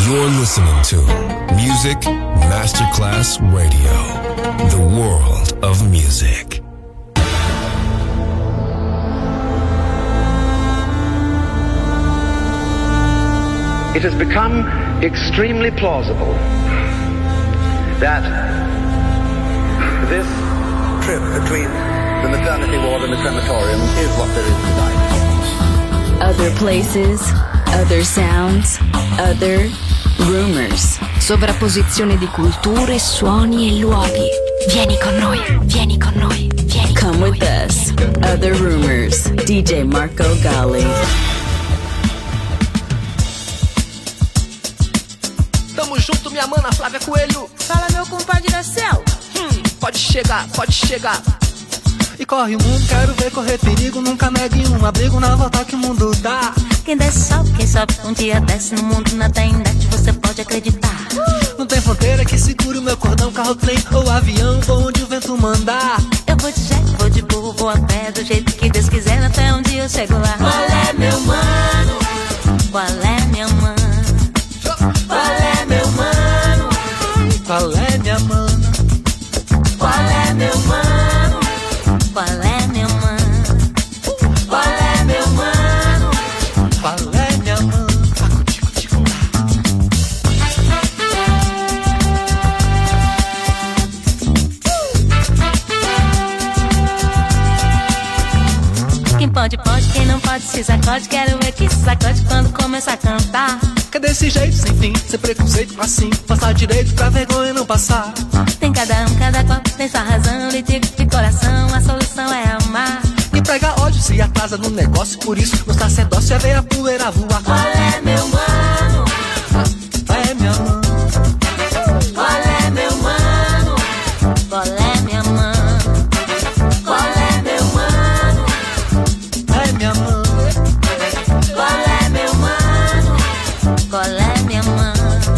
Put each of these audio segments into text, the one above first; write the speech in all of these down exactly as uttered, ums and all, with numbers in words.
You're listening to Music Masterclass Radio, the world of music. It has become extremely plausible that this trip between the maternity ward and the crematorium is what there is tonight. Other places, other sounds, other rumors. Sovrapposizione di culture, suoni e luoghi. Vieni con noi, vieni con noi, vieni con Come with noi. Us. Other Rumors. D J Marco Gally. Tamo junto, minha mana Flávia Coelho. Fala, meu compadre da céu. Hum, pode chegar, pode chegar. E corre o mundo, quero ver correr perigo. Nunca negue um abrigo na volta que o mundo dá. Quem desce sobe, quem sobe um dia desce. No mundo nada em net, você pode acreditar. Não tem fronteira que segure o meu cordão. Carro, trem ou avião, vou onde o vento mandar. Eu vou de jet, vou de burro, vou a pé. Do jeito que Deus quiser, até um dia eu chego lá. Qual é, meu mano? Qual é, minha mãe? Qual é, meu mano? Qual é, minha mana? Qual é, meu mano? Qual é, meu mano? Qual é, meu mano? Qual é, minha mana? Quem pode, pode, quem não pode se sacode. Quero ver que se sacode quando começa a cantar. Que desse jeito, sem fim, sem preconceito, assim. Passar direito pra vergonha não passar. Tem cada um, cada qual tem sua razão. E de, de coração, a solução é amar. E prega ódio se atrasa no negócio. Por isso, no sacerdócio é ver a poeira voar. Qual é, meu mano? É, minha mãe. Qual é, meu mano? Qual é, minha mãe? Qual é, meu mano? É, minha mãe. Qual é, meu mano? Qual é, minha mãe?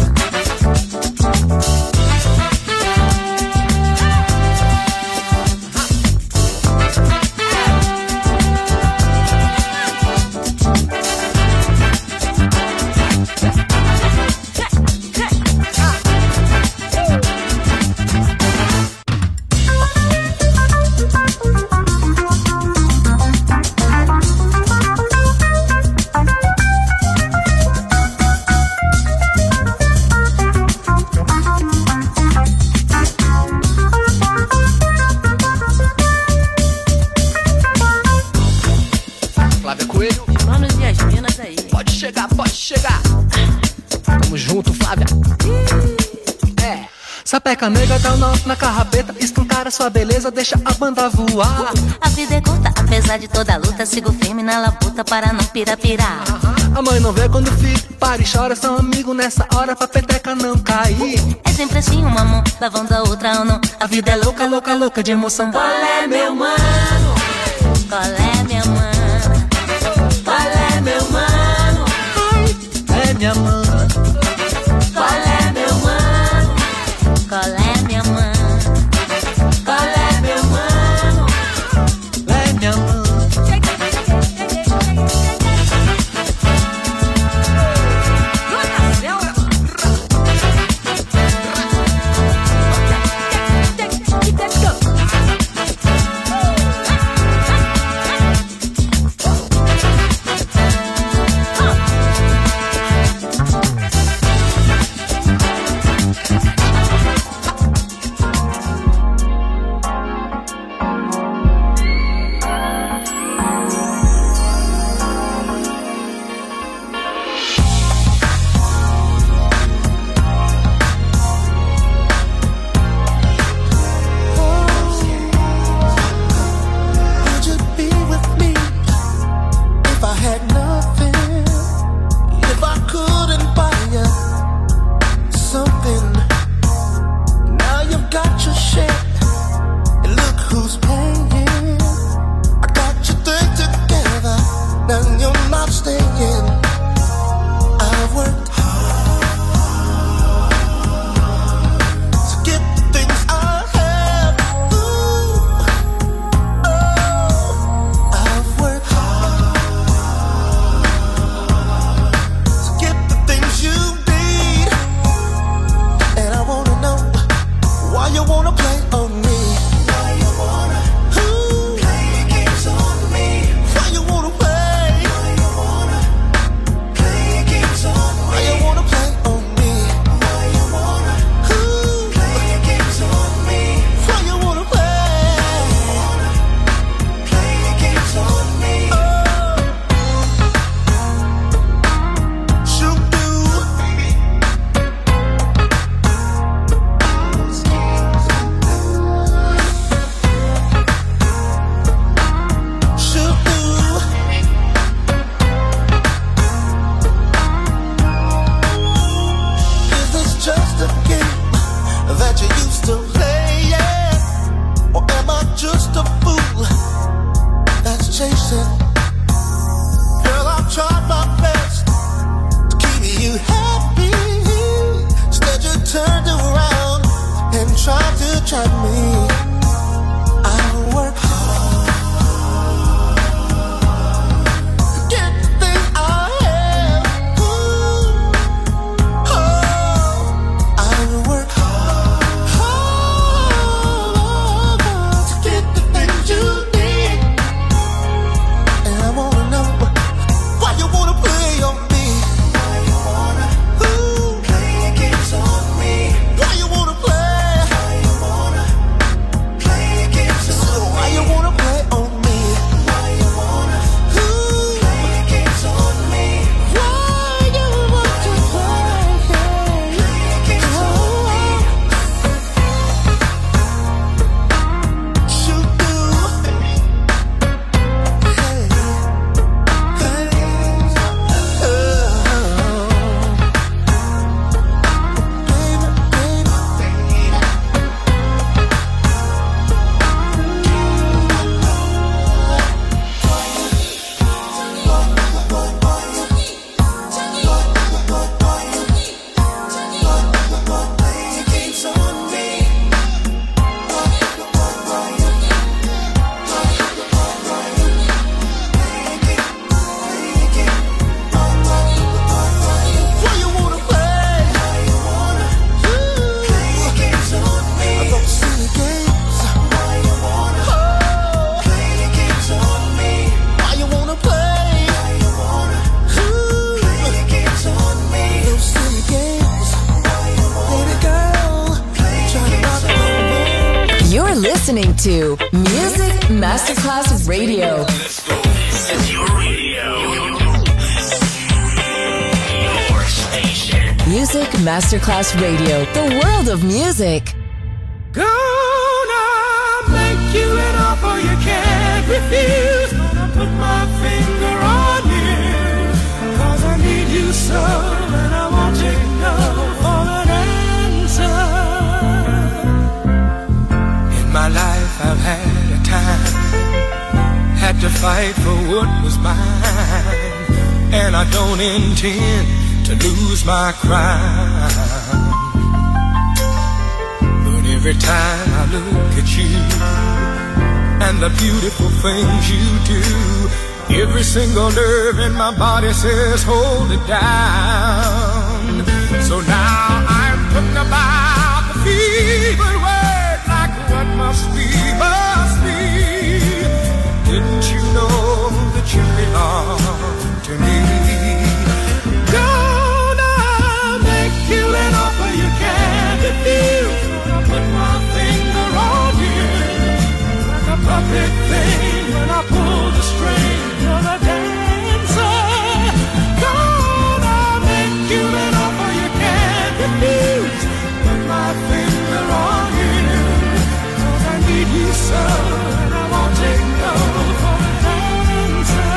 Flávia Coelho. Manos e as minas aí. Pode chegar, pode chegar. Tamo junto, Flávia. É. Sapeca nega, dá um nó na carrapeta. Escancara sua beleza, deixa a banda voar. A vida é curta, apesar de toda a luta. Sigo firme na labuta para não pirapirar. A mãe não vê quando o filho para e chora. São amigos nessa hora pra peteca não cair. É sempre assim, uma mão lavando a outra ou não. A vida é louca, louca, louca de emoção. Qual é, meu mano? Qual é, minha mãe? Qual é, meu mano? É, minha mãe. Qual é, meu mano? Qual é, minha mãe? Qual é, meu mano? É, minha mãe. listening to Music Masterclass Radio. Let's go. This is your radio. Your station. Music Masterclass Radio. The world of music. Gonna make you an offer you can't refuse. Gonna put my finger on you, 'cause I need you so, and I won't take no for an answer. In my life I've had a time, had to fight for what was mine, and I don't intend to lose my crown. Every time I look at you and the beautiful things you do, every single nerve in my body says hold it down. So now I'm talking about the feeble word, like what must be, must be. Didn't you know that you belong to me? Gonna make you an offer you can't refuse. Put my finger on you, like a puppet thing when I pull the string. You're the dancer. Gonna make you an offer you can't refuse. Put my finger on you, 'cause I need you so, and I won't take no for an answer.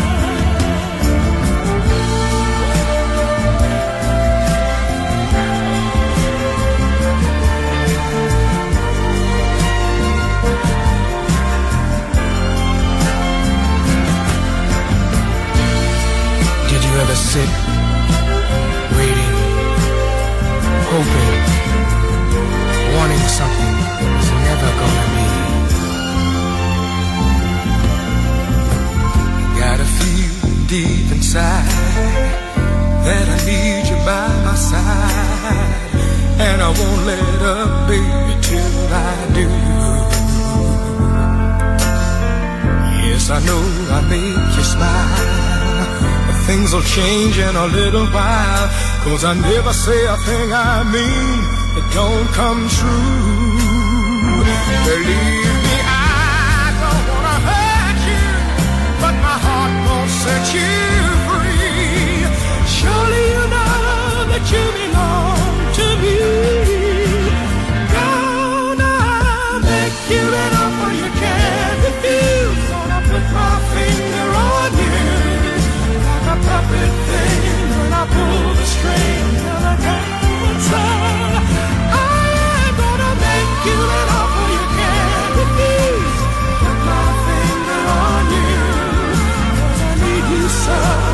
Ever sit, waiting, hoping, wanting something that's never gonna be? Gotta feel deep inside that I need you by my side, and I won't let up, baby, till I do. Yes, I know I make you smile. Things will change in a little while, 'cause I never say a thing I mean that don't come true. Believe me, I don't wanna hurt you, but my heart won't set you free. Surely you know that you belong to me. Gonna make you an offer you can't refuse. Gonna put my finger on you, a puppet thing when I pull the string of a dancer. I'm gonna make you an offer you can't refuse. Put my finger on you, 'cause I need you so.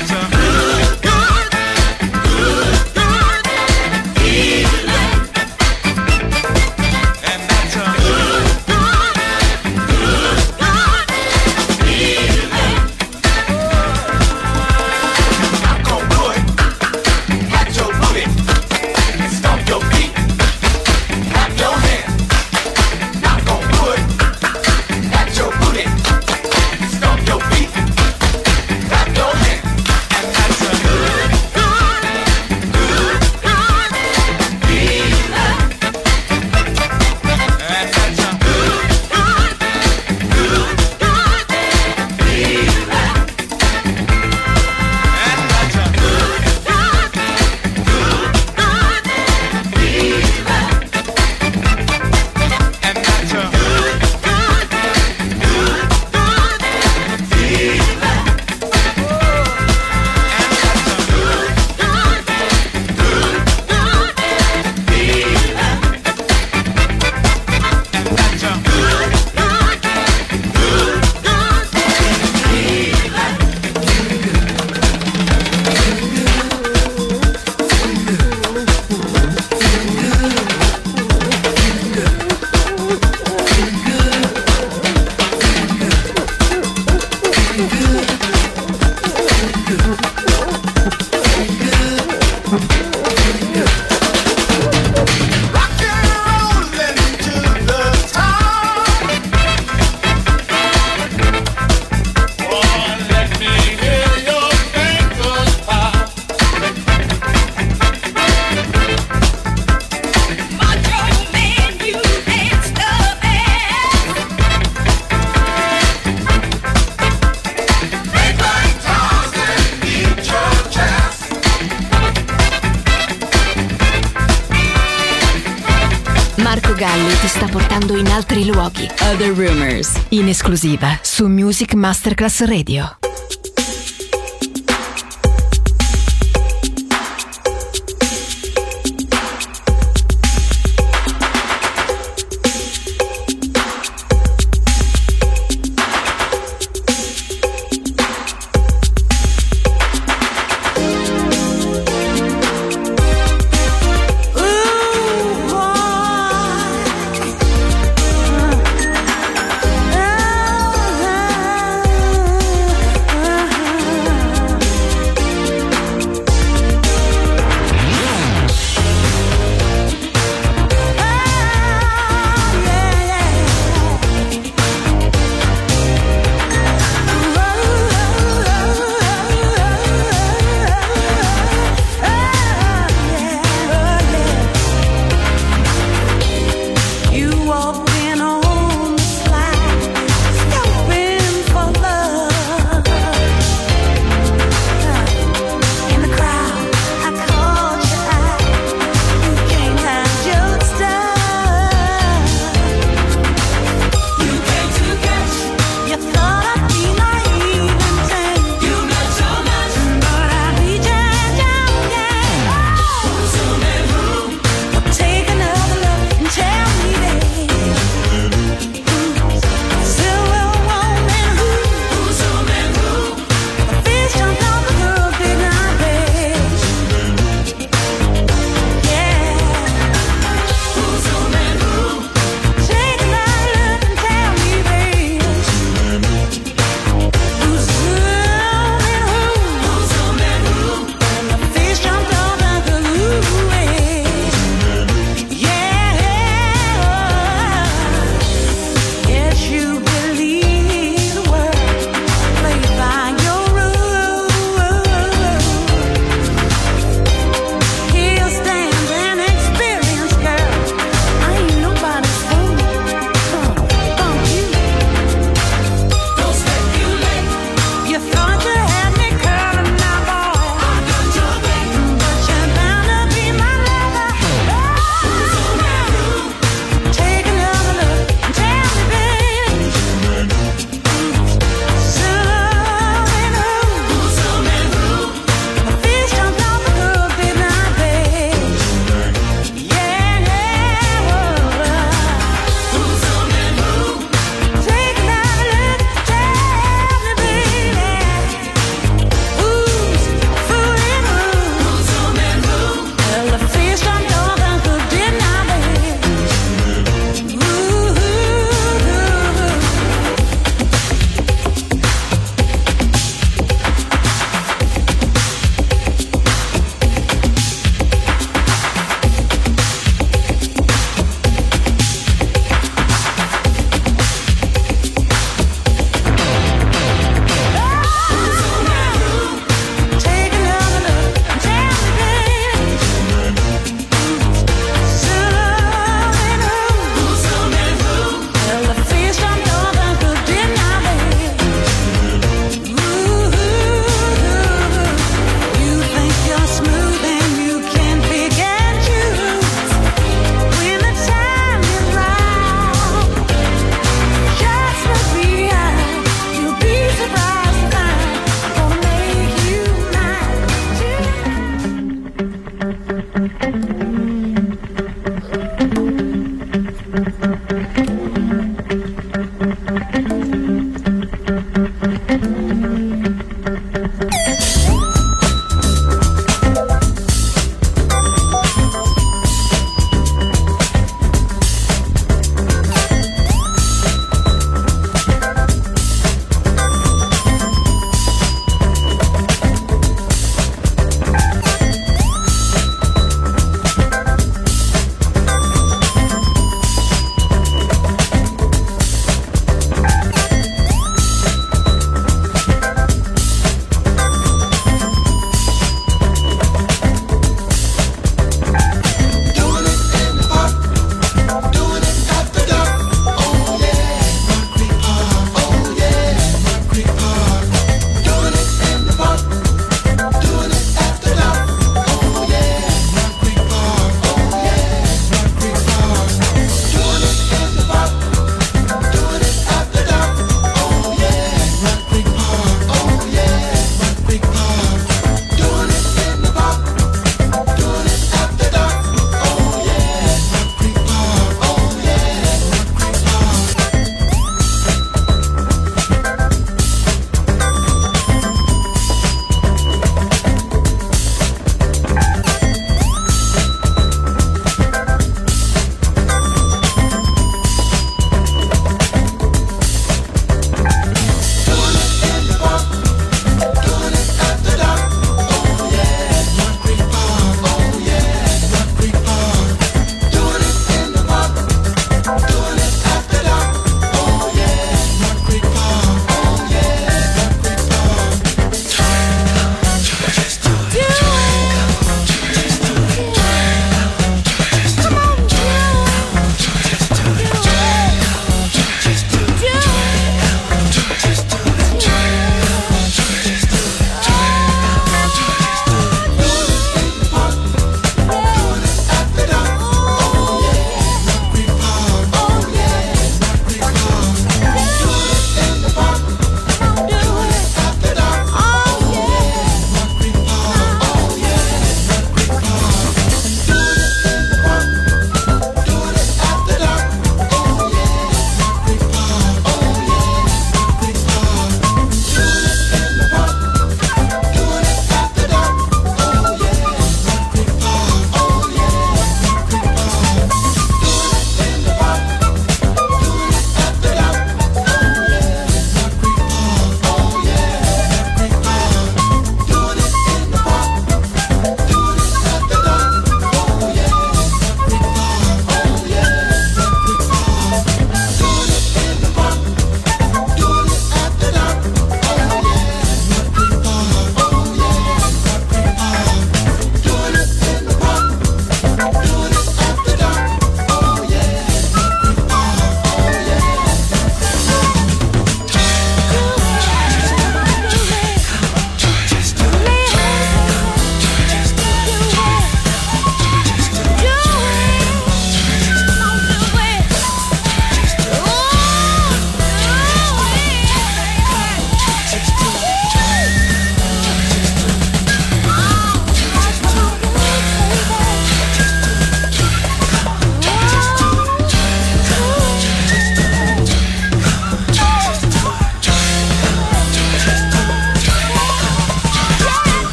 Galli ti sta portando in altri luoghi. Other Rumors, in esclusiva su Music Masterclass Radio.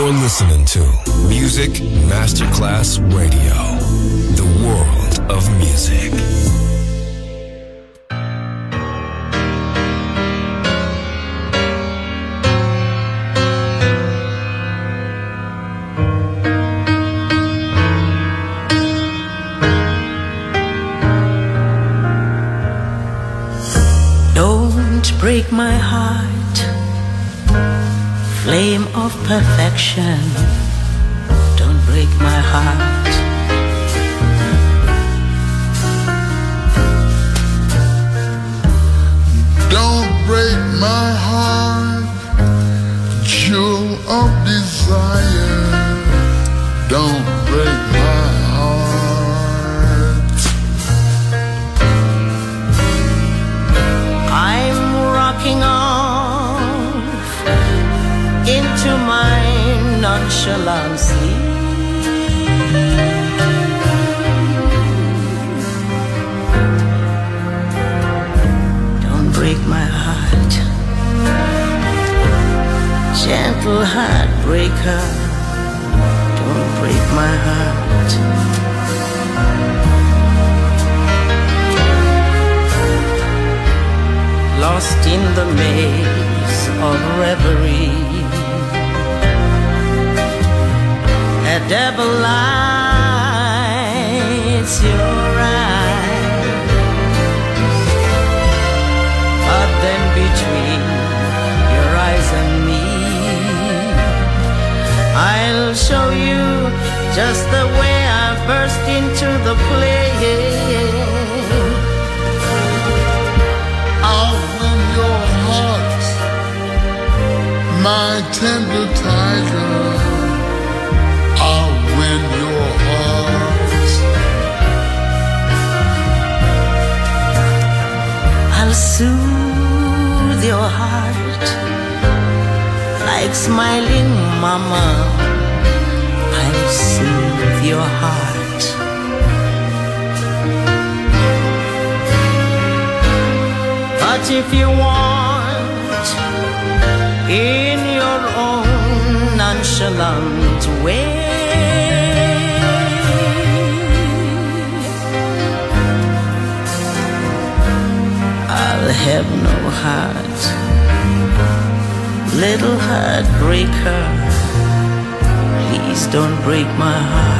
You're listening to Music Masterclass Radio, the world of music. Don't break my heart, flame of perfection. Don't break my heart. Don't break my heart, jewel of desire. Don't break my heart. I'm rocking off into my nonchalant sleep. Don't break my heart, gentle heartbreaker. Don't break my heart. Lost in the maze of reverie, a devil lights your eyes, but then between your eyes and me, I'll show you just the way I burst into the play. I'll win your heart, my tender tiger. I'll win your heart. I'll soothe your heart like smiling mama. I'll soothe your heart. But if you want, in your own nonchalant way, I'll have no heart, little heartbreaker. Please don't break my heart.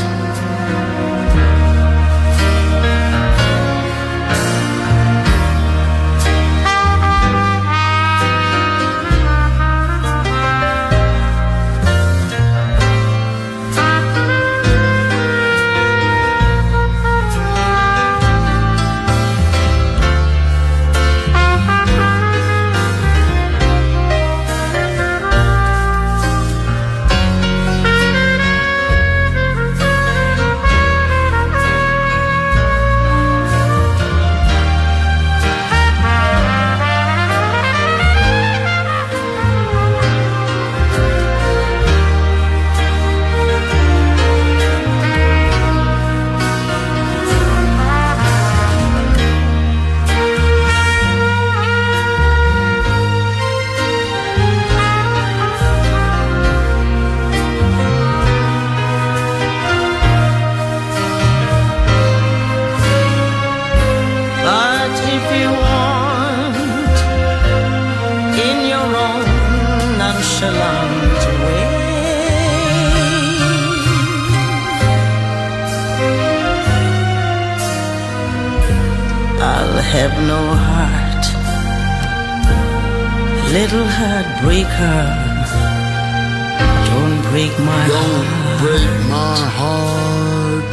Have no heart, little heartbreaker. Don't break my Don't heart. break my heart.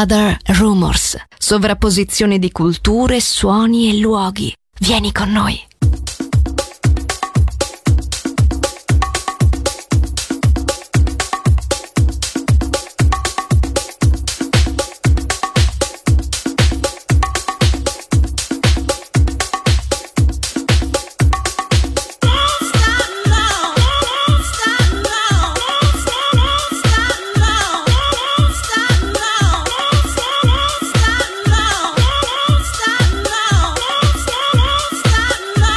Other Rumors, sovrapposizione di culture, suoni e luoghi. Vieni con noi. Stop now.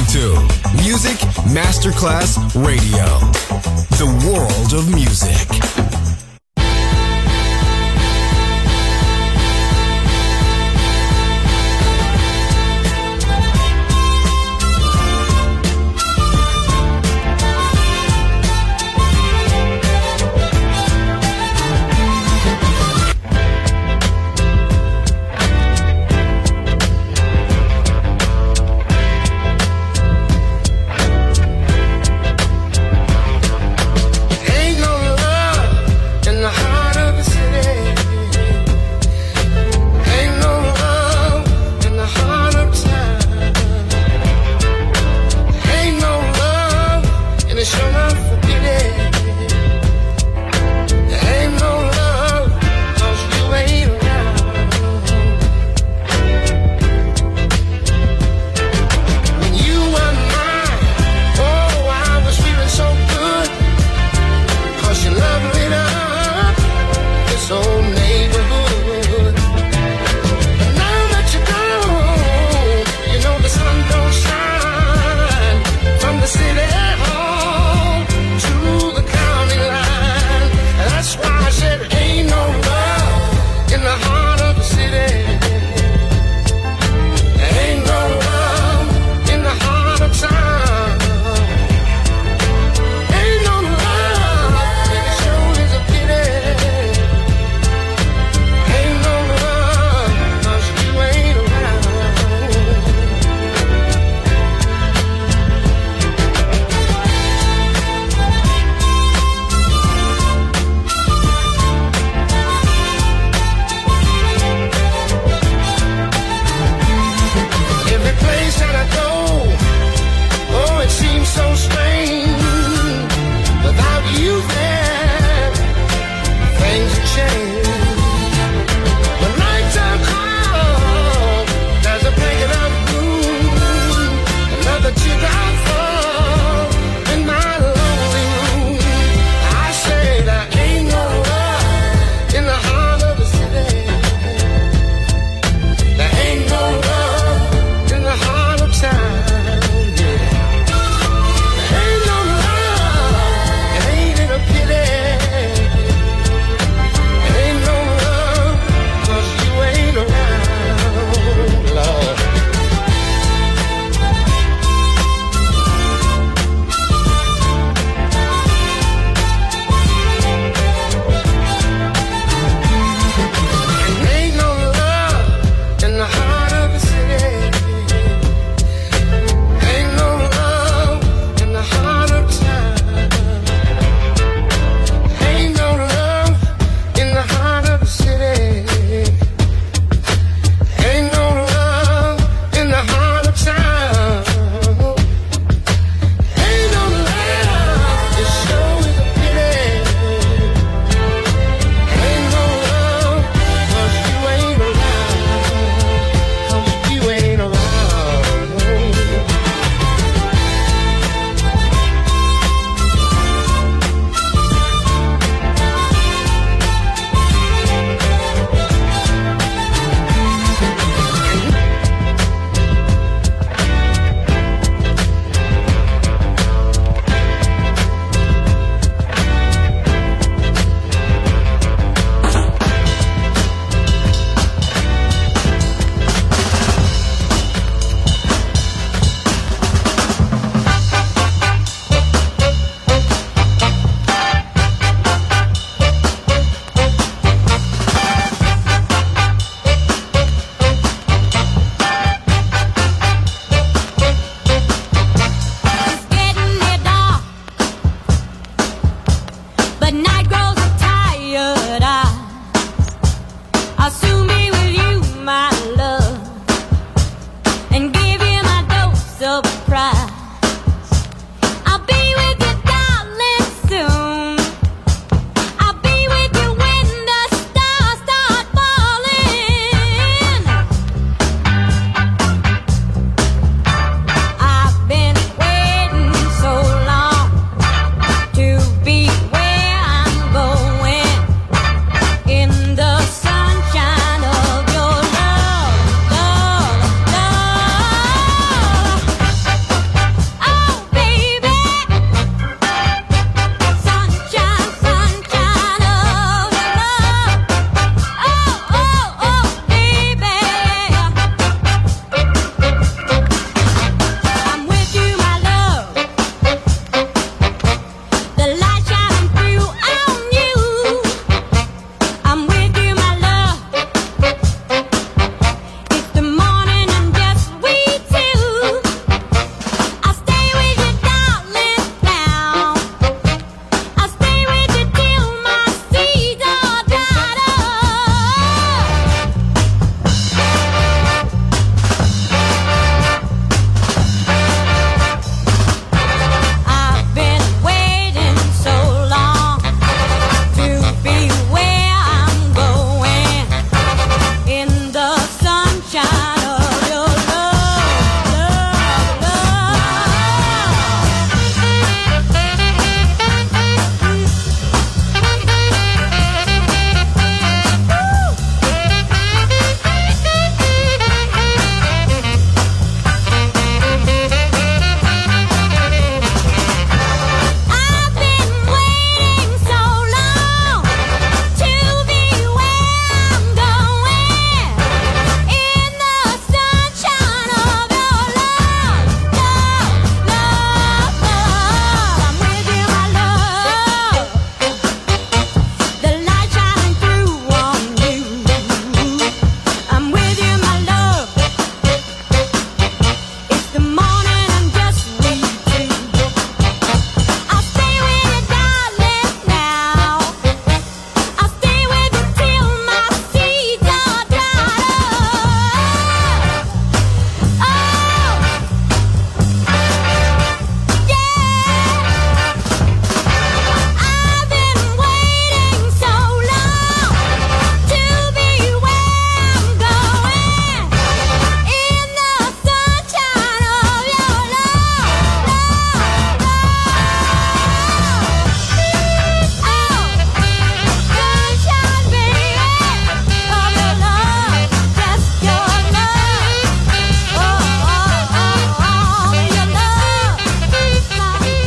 to Music Masterclass Radio, the world of music. Ain't no love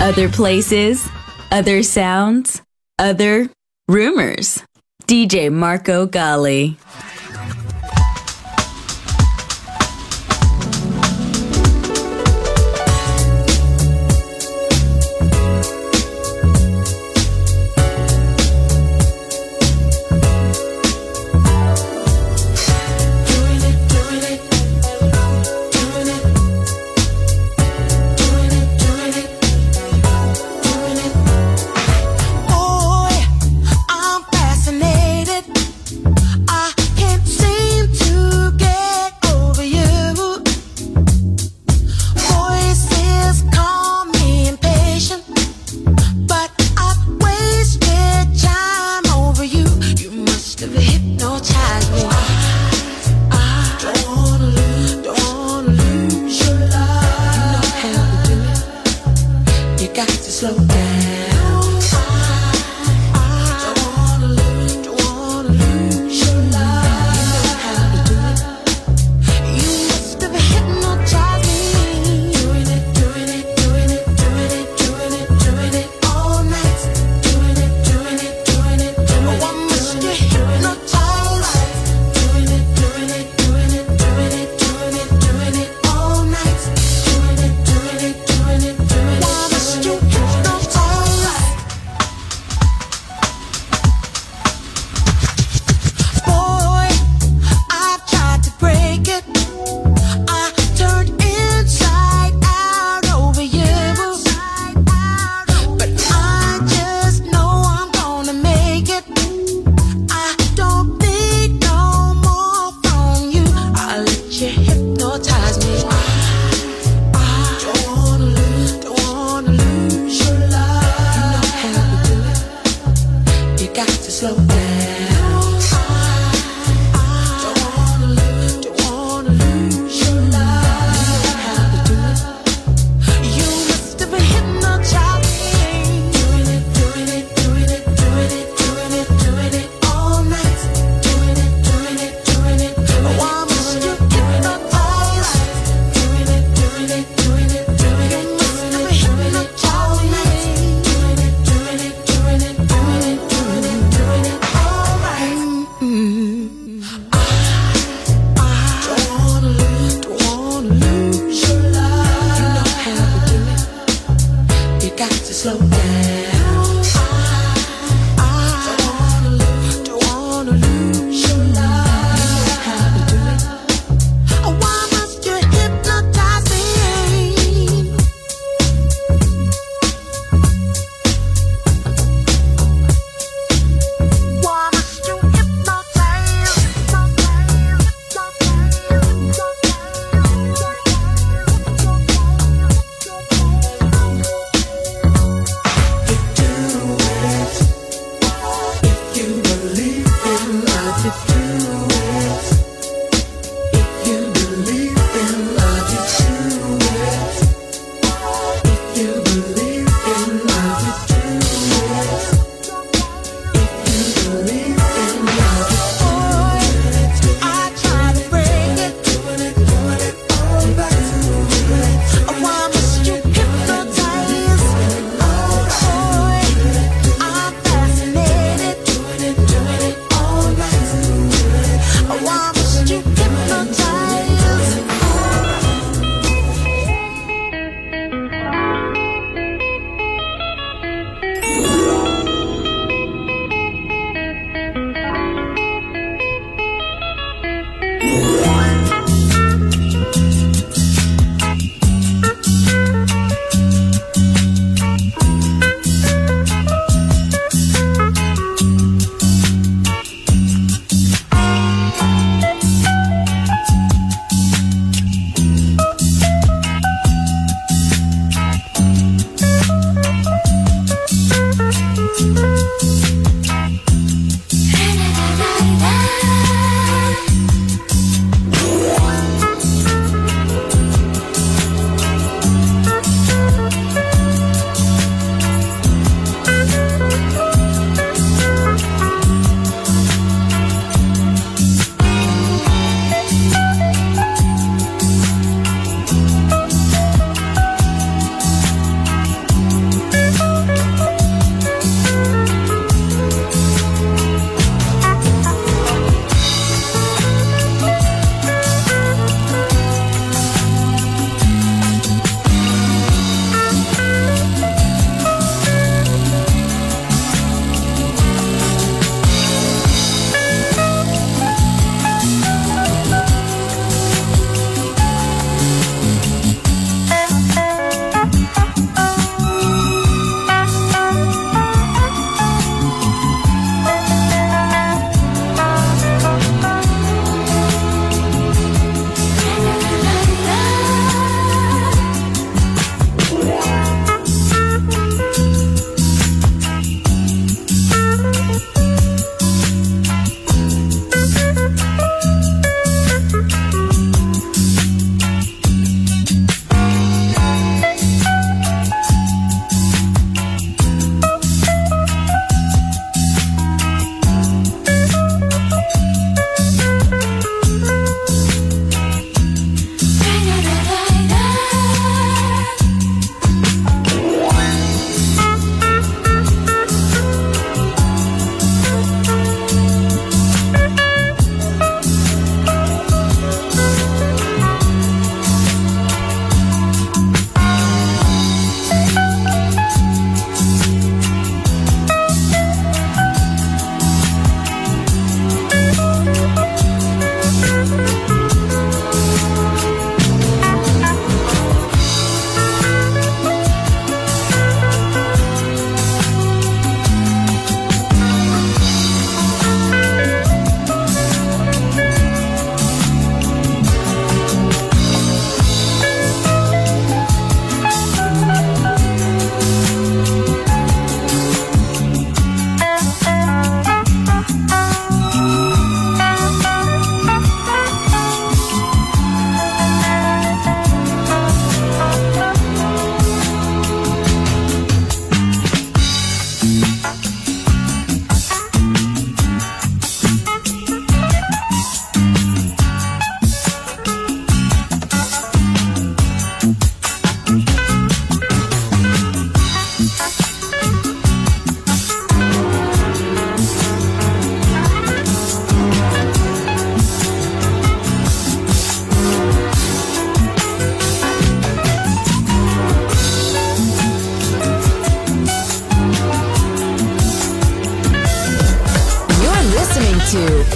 Other places, other sounds, other rumors. D J Marco Gally.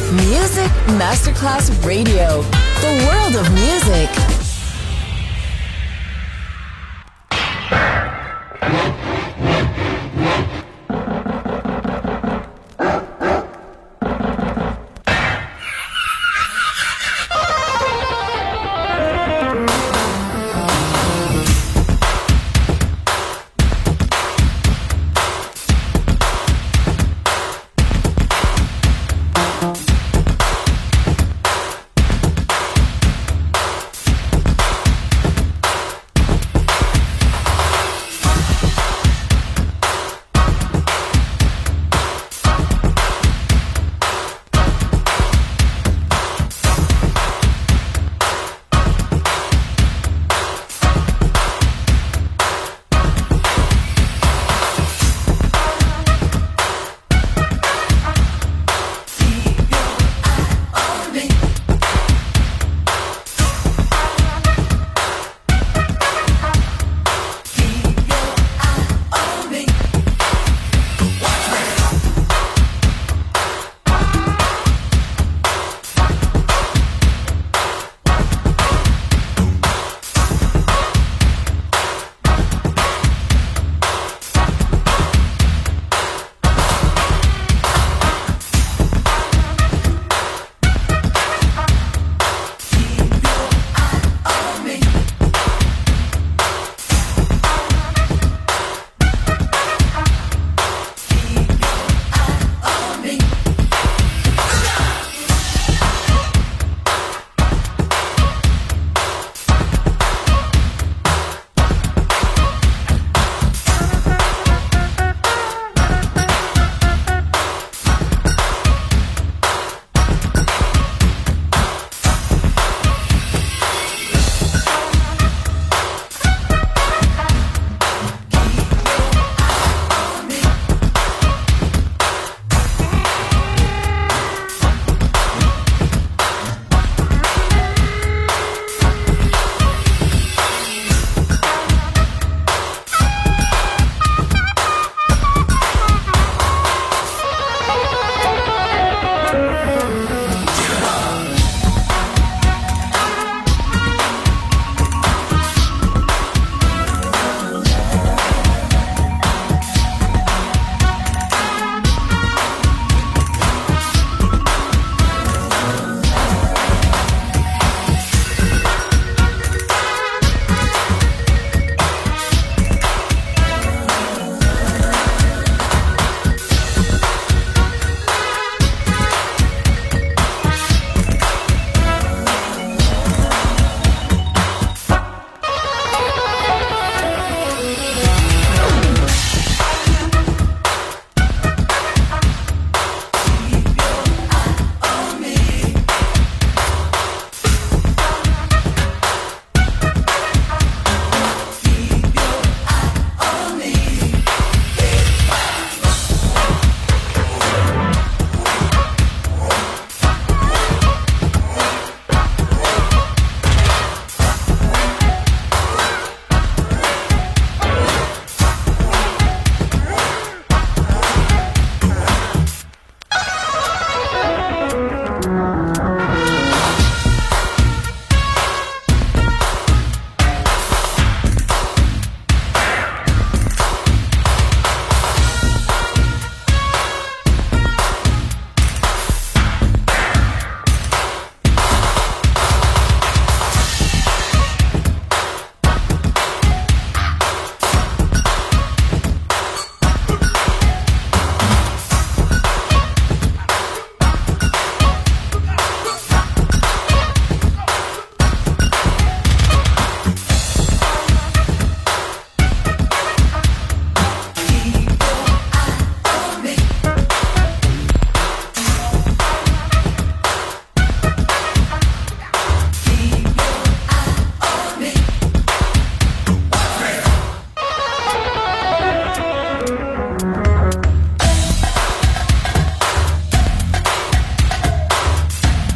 Music Masterclass Radio. The world of music.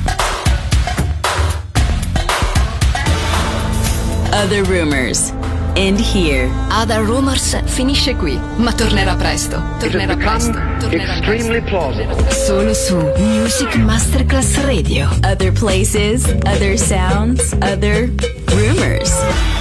Other Rumors end here. Other Rumors finisce qui, ma tornerà presto. Tornerà presto. Tornerà extremely plausible. Solo su Music Masterclass Radio. Other places, other sounds, other rumors.